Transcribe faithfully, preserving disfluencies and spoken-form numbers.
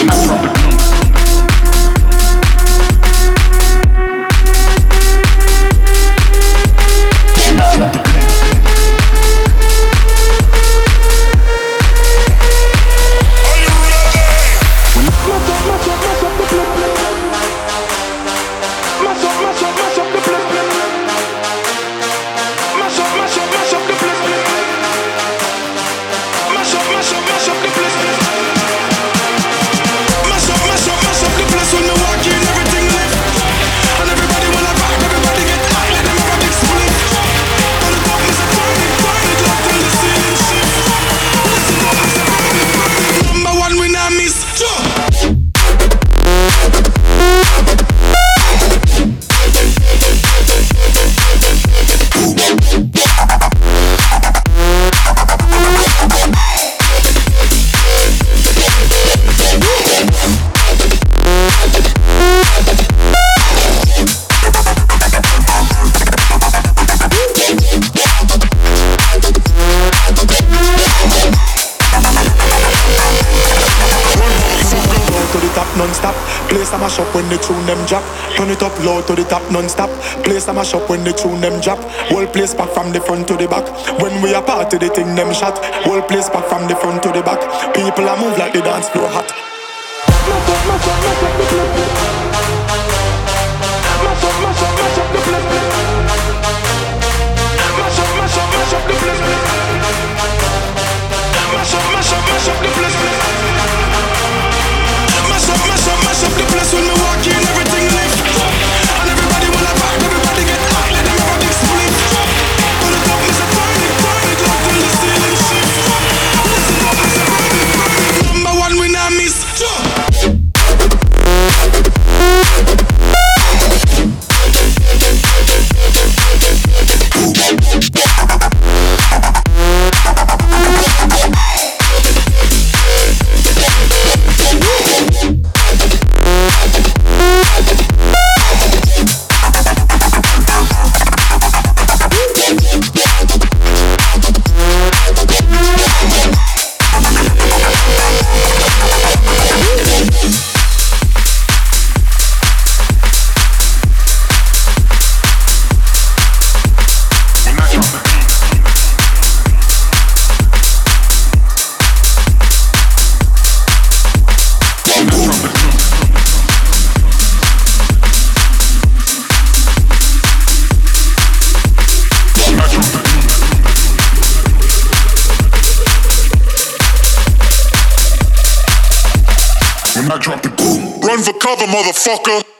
Mash up when the tune them drop. Turn it up low to the top non-stop. Place a mash up when the tune them drop. Whole place back from the front to the back. When we are party the thing them shot. Whole place back from the front to the back. People are move like the dance floor hot. Mash up, mash up, mash up the place. Mash up, mash up, mash up the place. Mash up, mash up, mash up the place. Mash up, mash up, mash up the place. Mash up, mash up, mash up the place. When we walk in, everything lift. And everybody wanna vibe, everybody get hot. Let them have a big split. Pull it up, miss a burn it, burn it up till the ceiling shift. Listen up, miss a burn it, burn it. Number one, we not miss. I drop the boom. Run for cover, motherfucker.